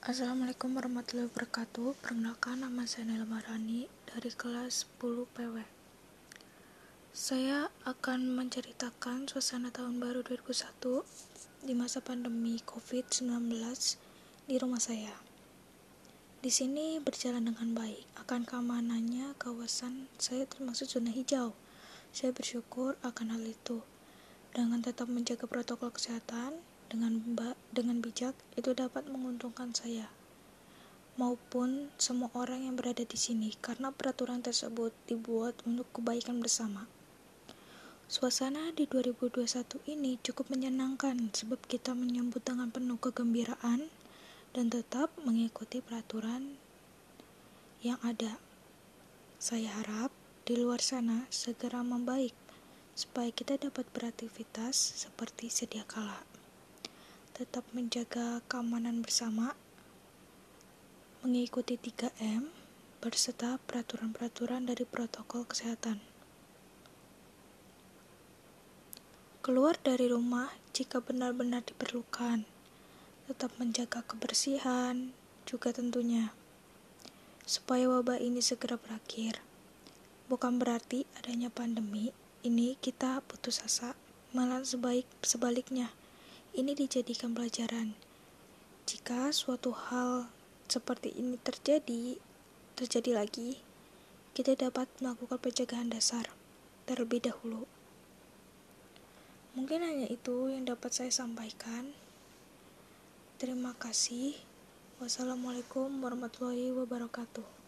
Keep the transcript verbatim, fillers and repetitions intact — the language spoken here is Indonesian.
Assalamualaikum warahmatullahi wabarakatuh. Perkenalkan, nama saya Naila Marani dari kelas sepuluh P W. Saya akan menceritakan suasana tahun baru dua ribu satu di masa pandemi covid sembilan belas di rumah saya. Di sini berjalan dengan baik. Akan keamanannya, kawasan saya termasuk zona hijau. Saya bersyukur akan hal itu. Dengan tetap menjaga protokol kesehatan dengan dengan bijak, itu dapat menguntungkan saya maupun semua orang yang berada di sini, karena peraturan tersebut dibuat untuk kebaikan bersama. Suasana di dua ribu dua puluh satu ini cukup menyenangkan sebab kita menyambut dengan penuh kegembiraan dan tetap mengikuti peraturan yang ada. Saya harap di luar sana segera membaik supaya kita dapat beraktivitas seperti sedia kala. Tetap menjaga keamanan bersama, mengikuti tiga M, berserta peraturan-peraturan dari protokol kesehatan. Keluar dari rumah jika benar-benar diperlukan. Tetap menjaga kebersihan juga tentunya, supaya wabah ini segera berakhir. Bukan berarti adanya pandemi ini kita putus asa, malah sebaik sebaliknya. Ini dijadikan pelajaran. Jika suatu hal seperti ini terjadi, terjadi lagi, kita dapat melakukan pencegahan dasar terlebih dahulu. Mungkin hanya itu yang dapat saya sampaikan. Terima kasih. Wassalamualaikum warahmatullahi wabarakatuh.